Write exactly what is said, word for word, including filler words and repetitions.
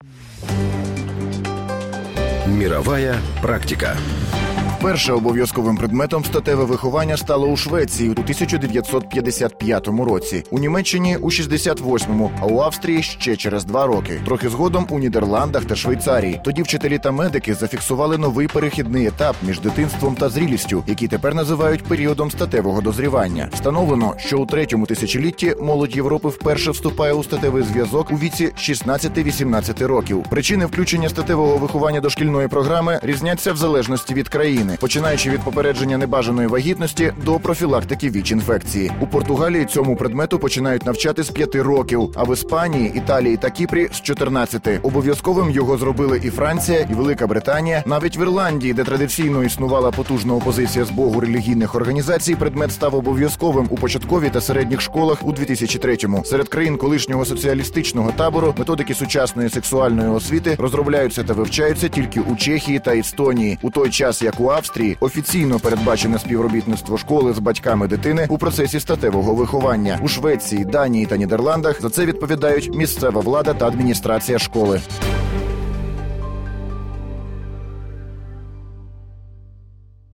Мировая практика. Перше обов'язковим предметом статеве виховання стало у Швеції у тисяча дев'ятсот п'ятдесят п'ятому році, у Німеччині – у шістдесят восьмому, а у Австрії – ще через два роки. Трохи згодом у Нідерландах та Швейцарії. Тоді вчителі та медики зафіксували новий перехідний етап між дитинством та зрілістю, який тепер називають періодом статевого дозрівання. Встановлено, що у третьому тисячолітті молодь Європи вперше вступає у статевий зв'язок у віці шістнадцяти-вісімнадцяти років. Причини включення статевого виховання до шкільної програми різняться в залежності від країни, починаючи від попередження небажаної вагітності до профілактики ВІЧ-інфекції. У Португалії цьому предмету починають навчати з п'яти років, а в Іспанії, Італії та Кіпрі – з чотирнадцяти. Обов'язковим його зробили і Франція, і Велика Британія. Навіть в Ірландії, де традиційно існувала потужна опозиція з боку релігійних організацій, предмет став обов'язковим у початковій та середніх школах у дві тисячі третьому. Серед країн колишнього соціалістичного табору методики сучасної сексуальної освіти розробляються та вивчаються тільки у Чехії та Естонії, у той час як у Австрії офіційно передбачене співробітництво школи з батьками дитини у процесі статевого виховання. У Швеції, Данії та Нідерландах за це відповідають місцева влада та адміністрація школи.